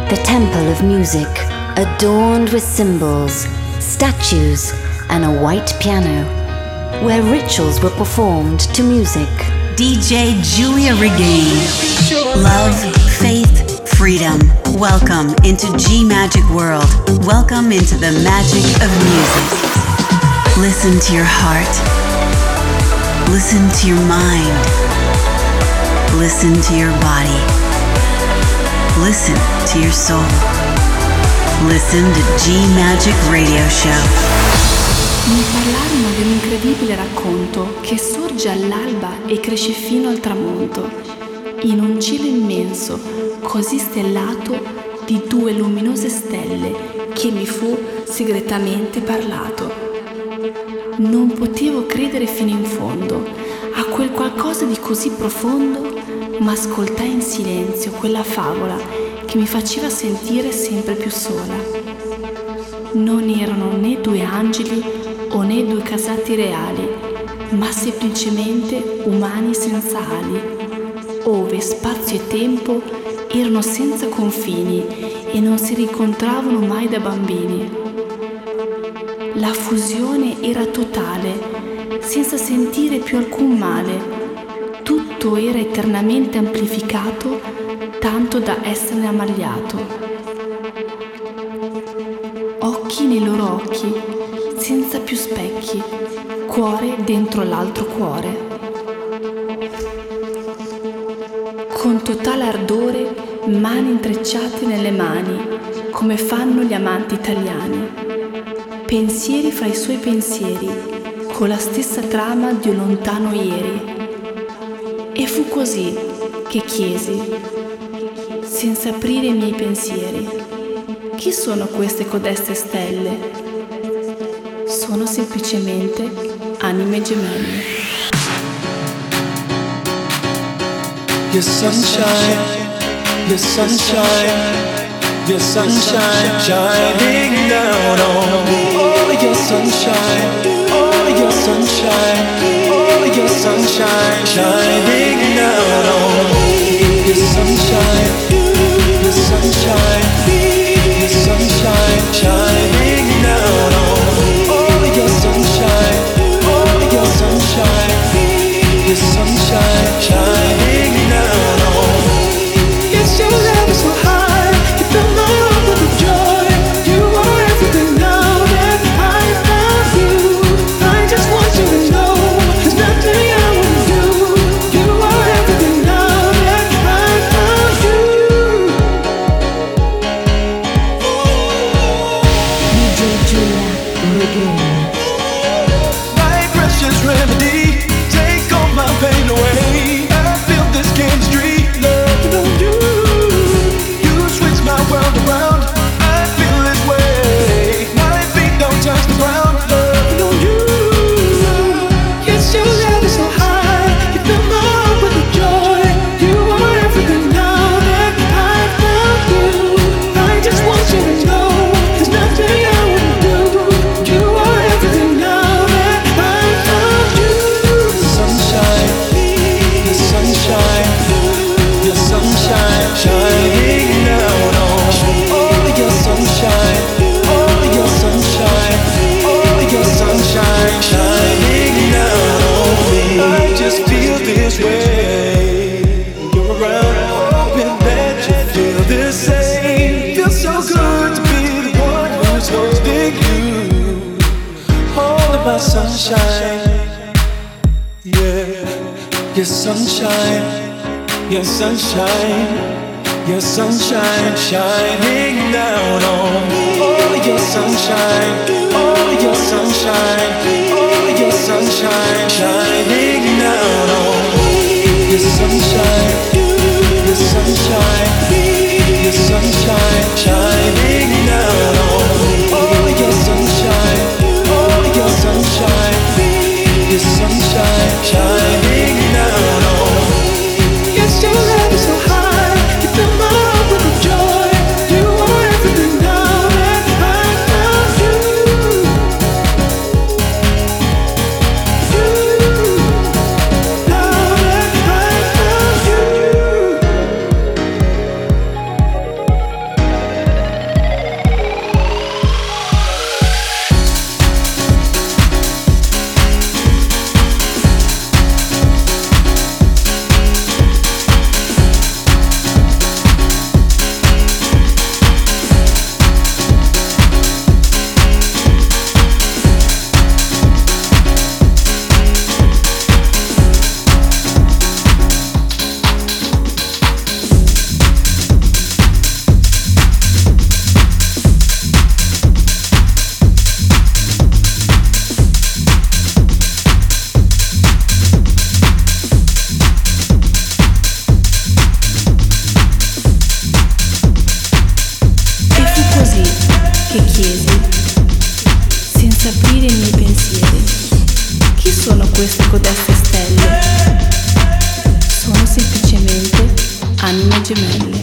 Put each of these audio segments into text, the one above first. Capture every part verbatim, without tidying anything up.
the temple of music, adorned with symbols, statues, and a white piano, where rituals were performed to music. D J Giulia Regain. Love, faith, freedom. Welcome into G Magic World. Welcome into the magic of music. Listen to your heart. Listen to your mind. Listen to your body. Listen to your soul. Listen to G Magic Radio Show. Mi parlarono di un incredibile racconto che sorge all'alba e cresce fino al tramonto, in un cielo immenso, così stellato di due luminose stelle che mi fu segretamente parlato. Non potevo credere fino in fondo a quel qualcosa di così profondo, ma ascoltai in silenzio quella favola che mi faceva sentire sempre più sola. Non erano né due angeli o né due casati reali, ma semplicemente umani senza ali, ove spazio e tempo erano senza confini e non si rincontravano mai da bambini. La fusione era totale, senza sentire più alcun male. Tutto era eternamente amplificato, tanto da esserne ammagliato. Occhi nei loro occhi, senza più specchi, cuore dentro l'altro cuore. Con totale ardore, mani intrecciate nelle mani, come fanno gli amanti italiani. Pensieri fra i suoi pensieri, con la stessa trama di un lontano ieri. E fu così che chiesi, senza aprire i miei pensieri: chi sono queste codeste stelle? Sono semplicemente anime gemelle. Your sunshine, your sunshine, your sunshine shining down on me. Oh, your sunshine, oh, your sunshine, oh, your sunshine shining down on me. Your sunshine, your sunshine, your sunshine shining down on me. Oh, your sunshine, oh, your sunshine, your sunshine shining down on me. Yes, your love is so high, you fill my heart with the joy. You are everything now that I love you. I just want you to know there's nothing I wouldn't do. You are everything now that I love you. D J Giulia Regain. My precious remedy, take all my pain away. I feel this chemistry, loving on you. You switch my world around, I feel this way. My feet don't touch the ground, loving on you. Yes, your love is so high, you fill my heart with the joy. You are everything now that I love you. I just want you to know there's nothing I wouldn't do. You are everything now that I love you. Sunshine, the sunshine, your sunshine shining down on me. Oh, your sunshine, oh, your sunshine, oh, your sunshine shining down on me. I just feel this way. You're around, hoping that you feel the same. Feels so good to be the one who's holding you. All of my sunshine, yeah. Your sunshine, your sunshine, your sunshine shining down on me. Oh, your sunshine, oh, your sunshine, oh, your sunshine shining down on me. Your sunshine, your sunshine, your sunshine shining down on me. Oh, your sunshine, oh, your sunshine, your sunshine shining down on me. Yes, your love is so high, you fill my heart with the joy. You are everything now that I love you. You, now that I love you. anime gemelle.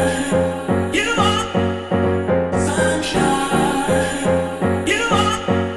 Sunshine, you are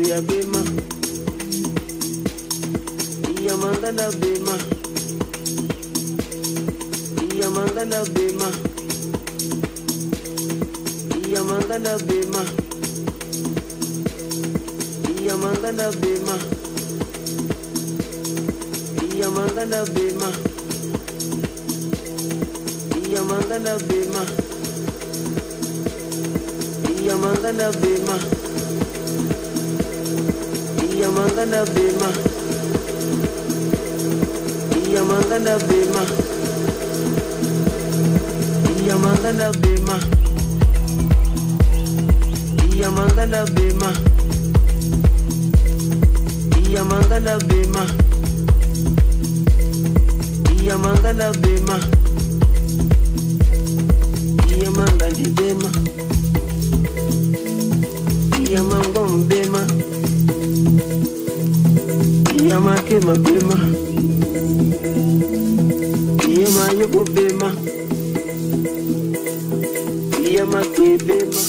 buya bema. Iya mangana bema. Iya mangana bema. Iya mangana bema. Iya mangana bema. Iya mangana bema. Iya mangana bema. Iya mangana bema. Iya mangana bema. Iya mangana bema. Iya mangana bema. Iya mangana bema. Iya mangana bema. Iya mangana bema. Iya mangana bema. Iya mangom bema. Iya makema bema. Iya mayuko bema. Iya makwe bema.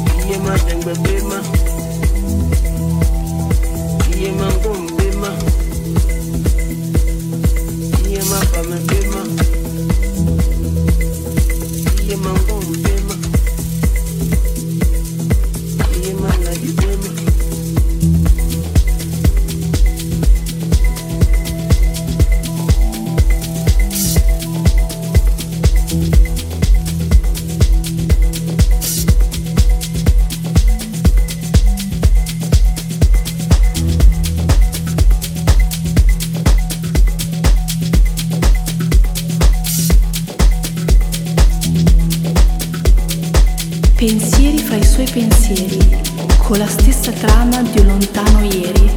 Bema, fra i suoi pensieri, con la stessa trama di un lontano ieri.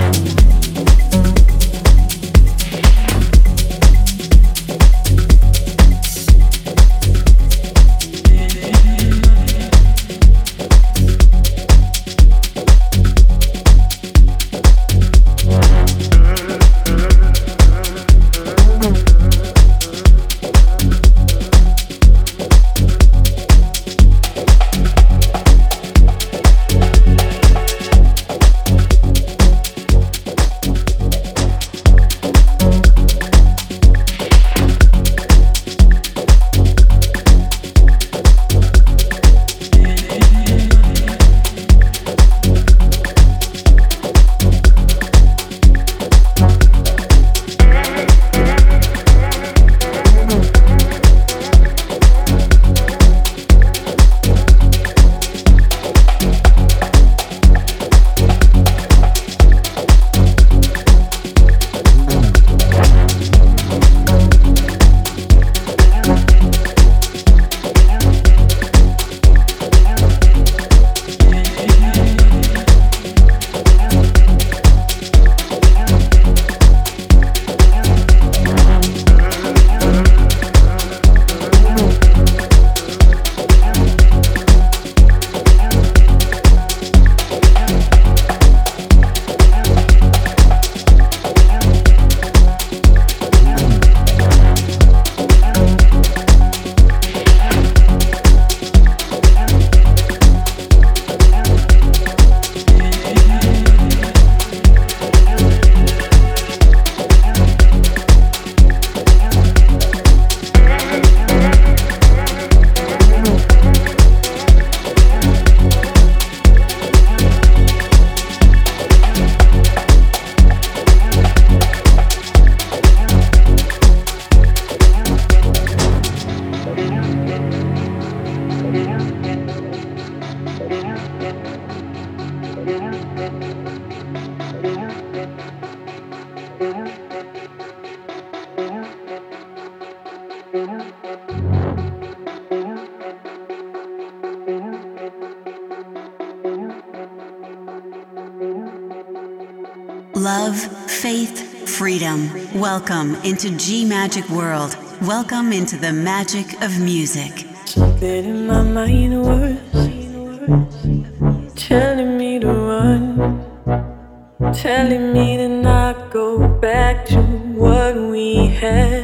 Love, faith, freedom. Welcome into G Magic World. Welcome into the magic of music. Something in my mind was telling me to run, telling me to not go back to what we had.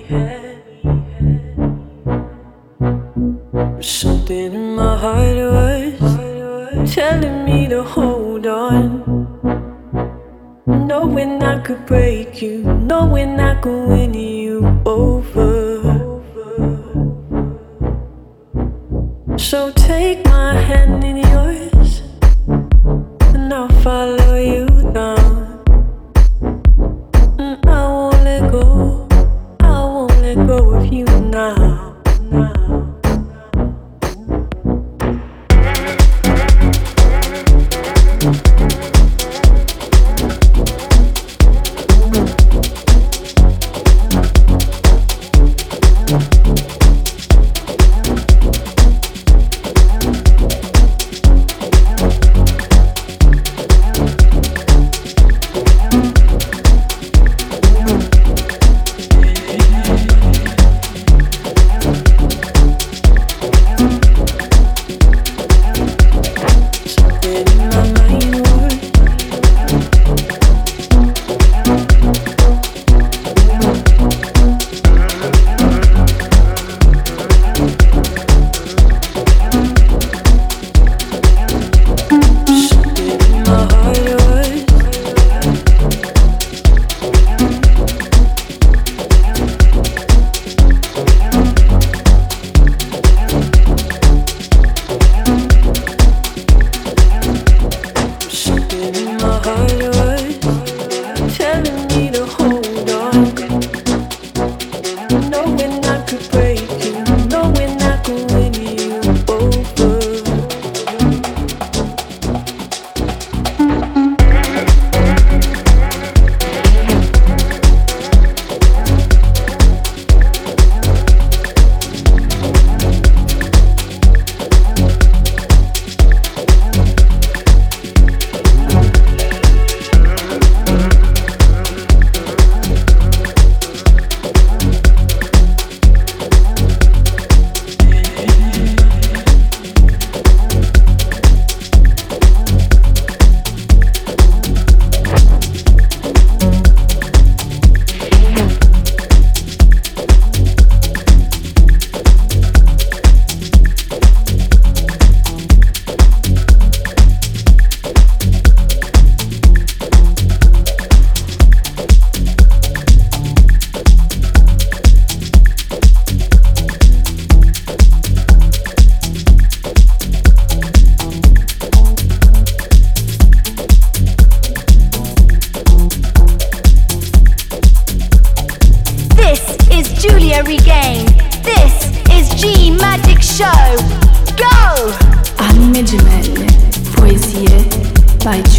Something in my heart was telling me to hold on, knowing I could break you, knowing I could win you over. So take my hand in yours, and I'll follow you down. And I won't let go, I won't let go of you now, now.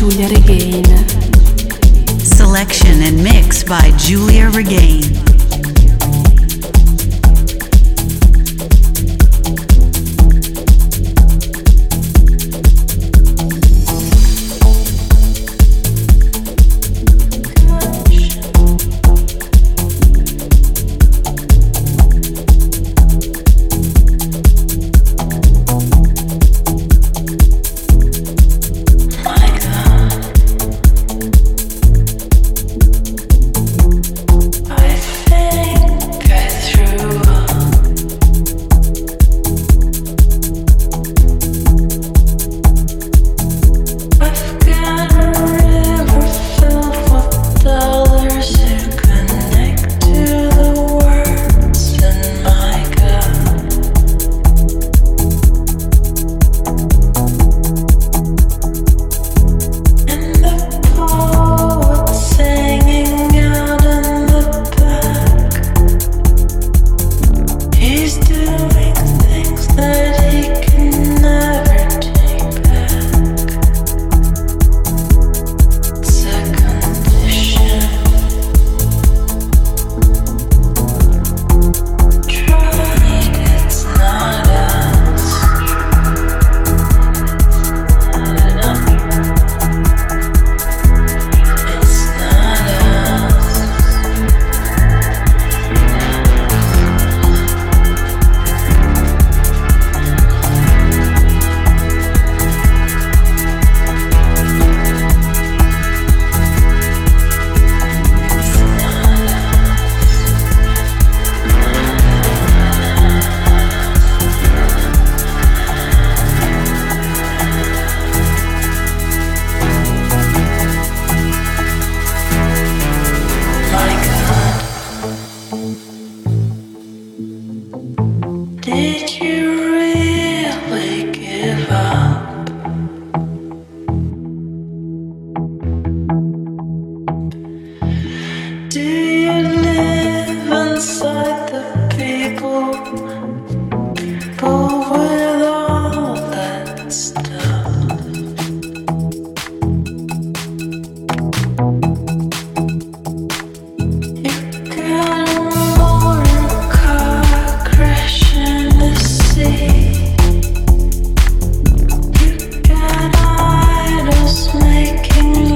Giulia Regain. Selection and mix by Giulia Regain.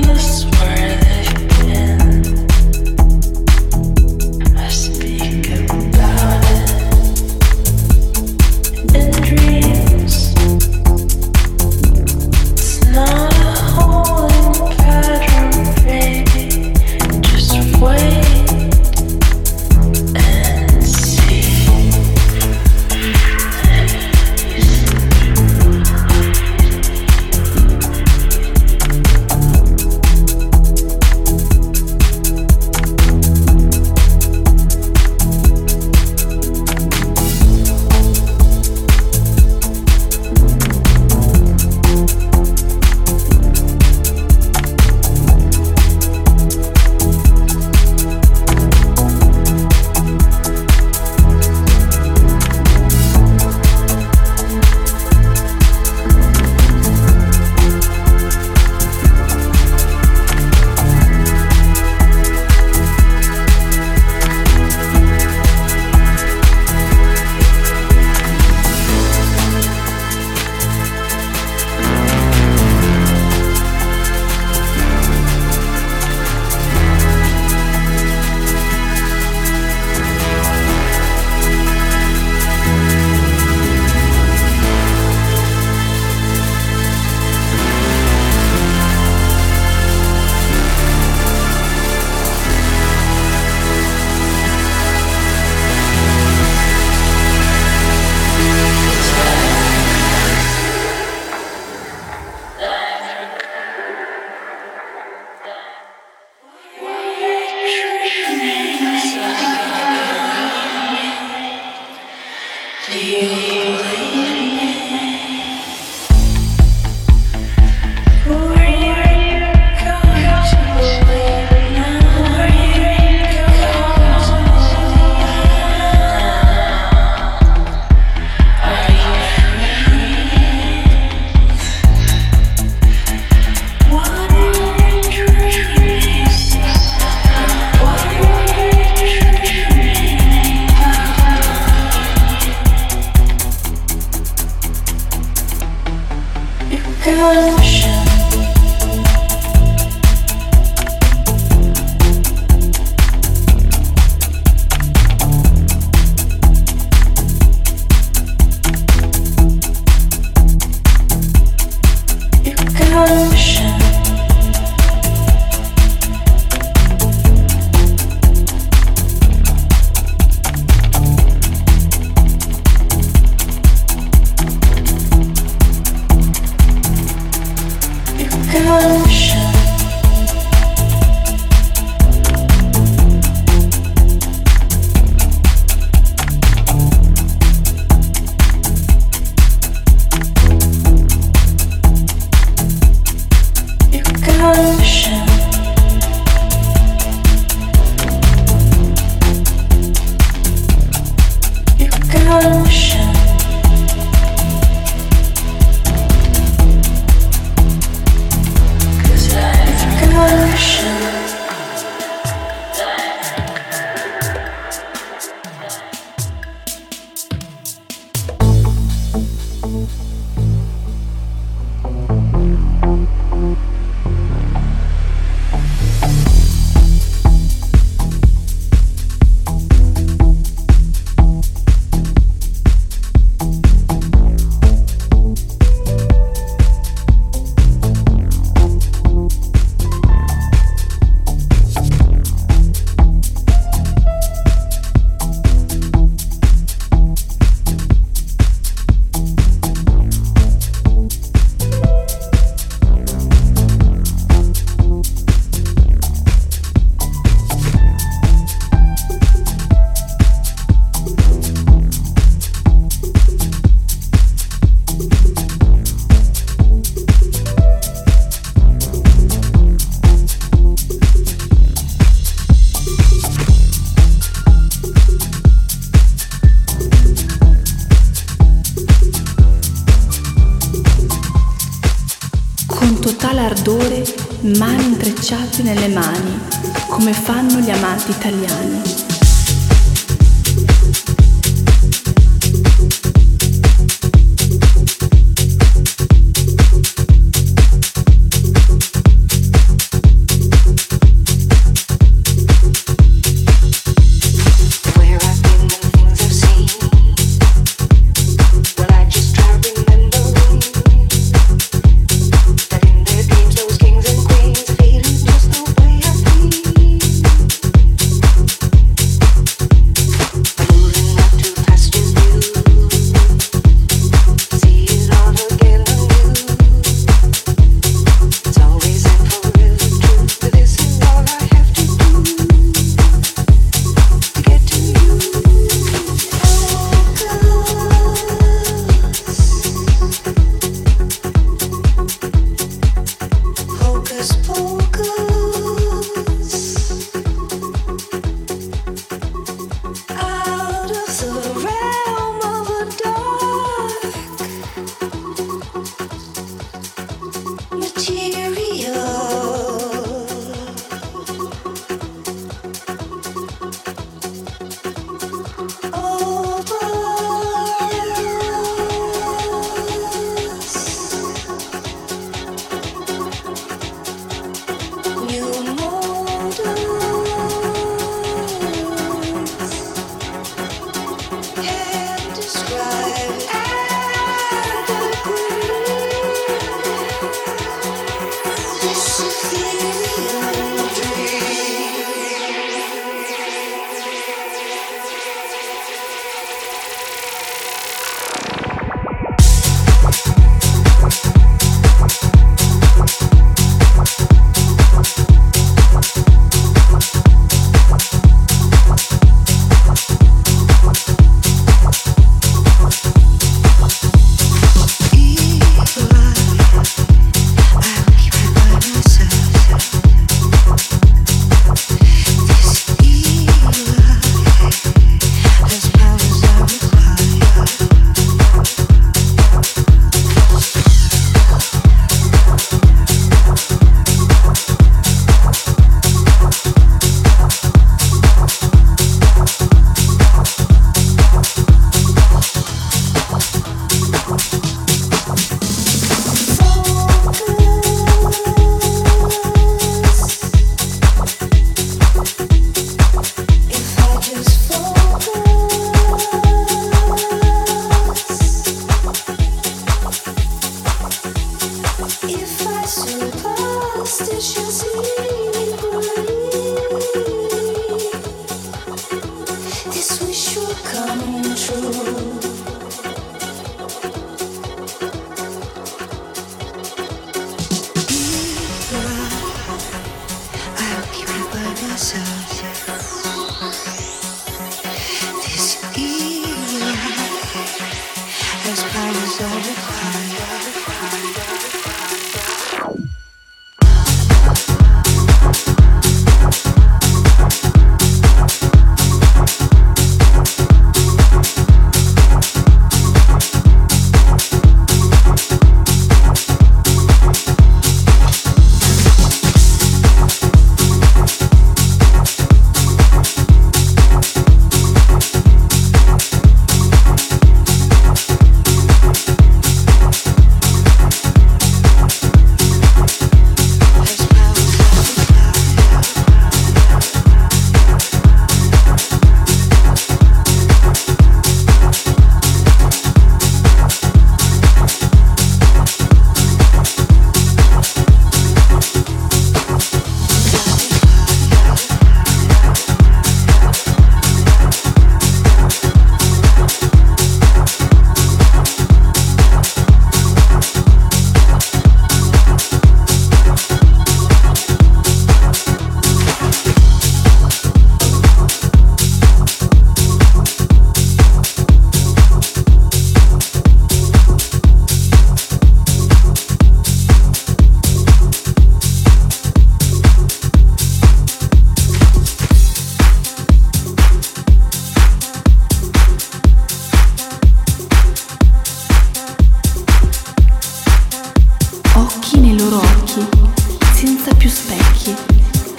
Speak intrecciati nelle mani, come fanno gli amanti italiani.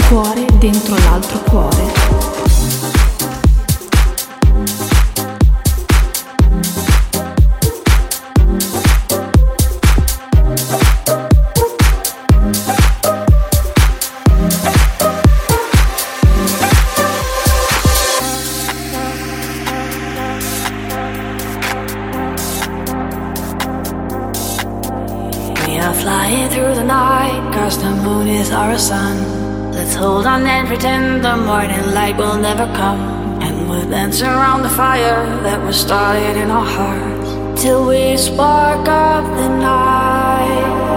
cuore dentro l'altro cuore. The moon is our sun. Let's hold on and pretend the morning light will never come. And we'll dance around the fire that was started in our hearts till we spark up the night.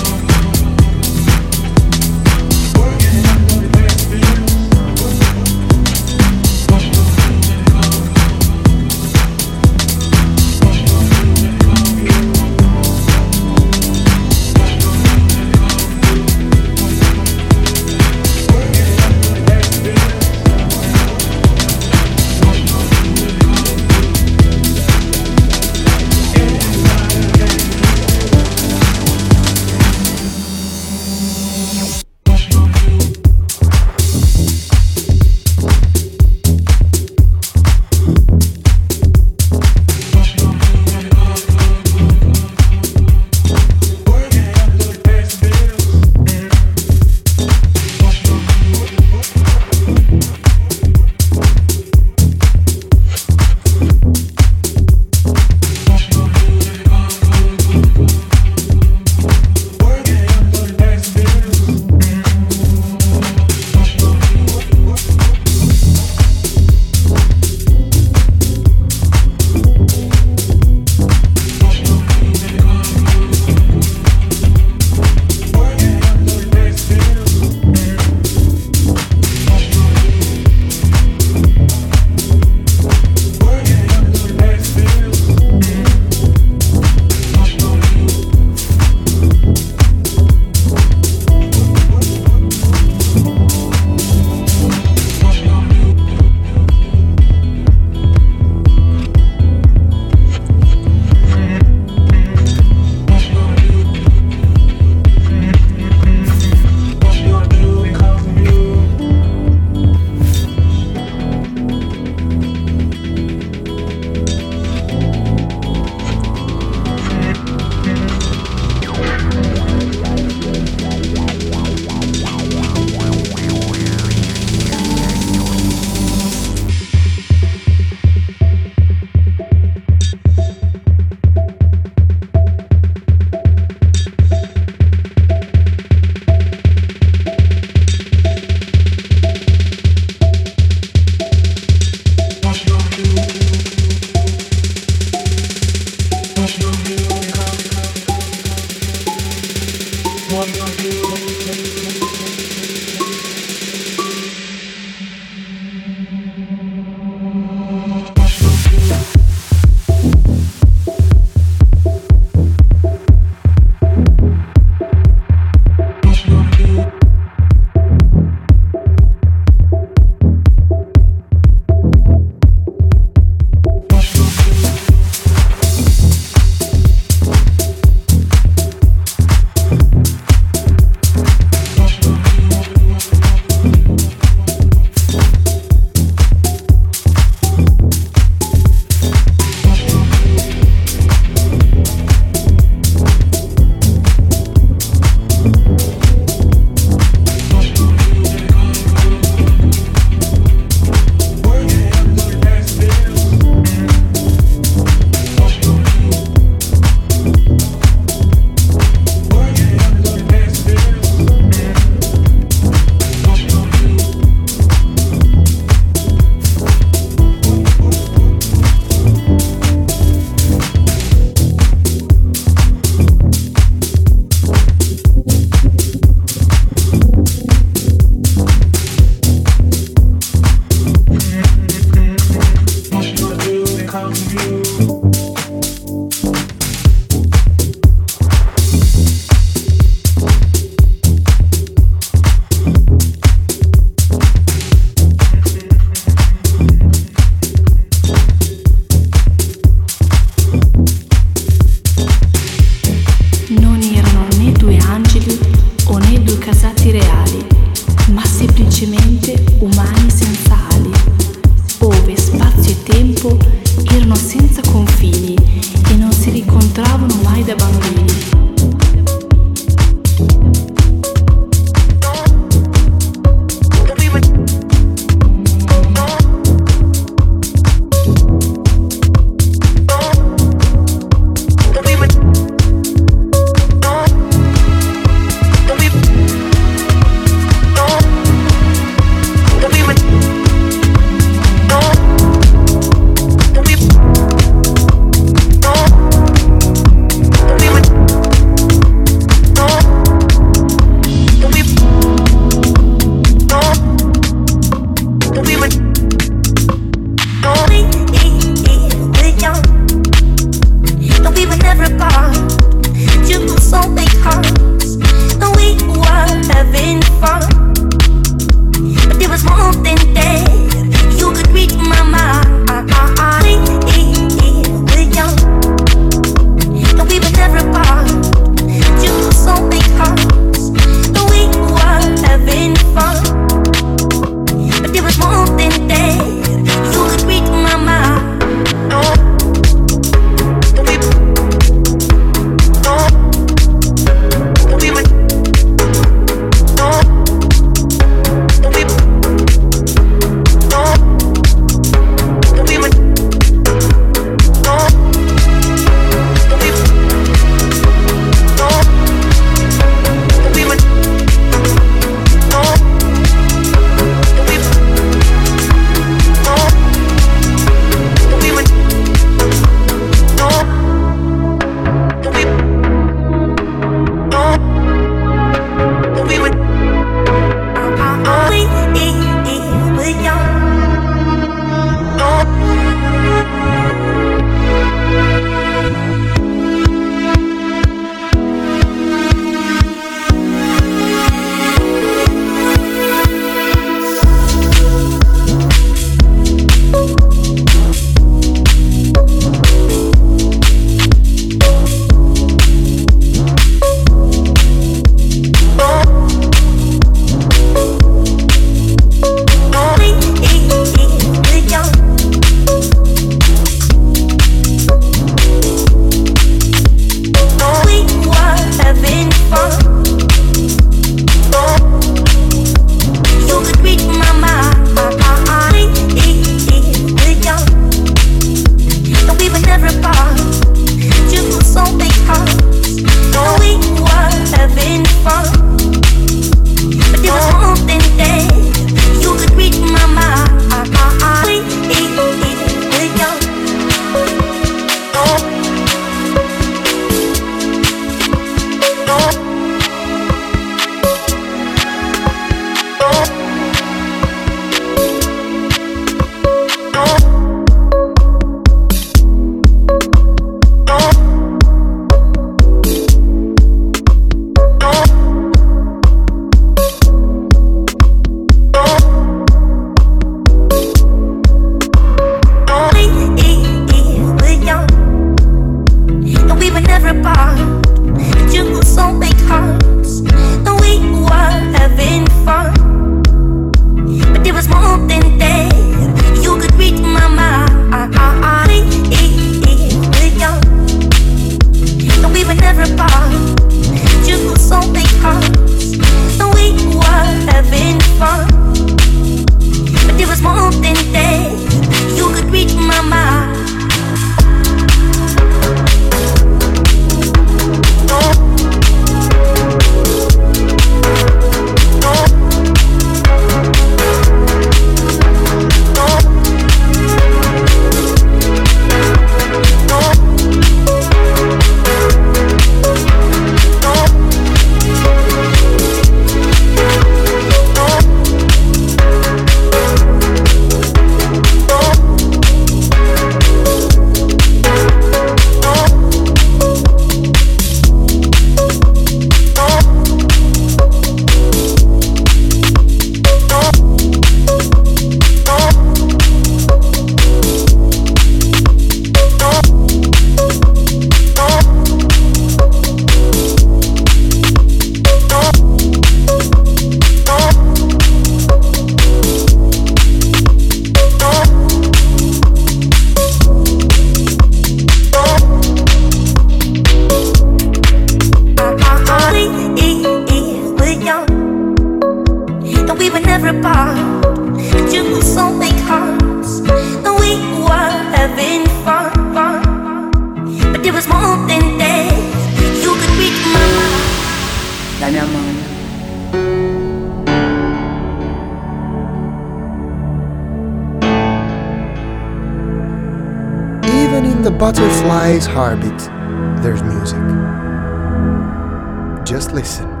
butterfly's heartbeat, there's music. Just listen.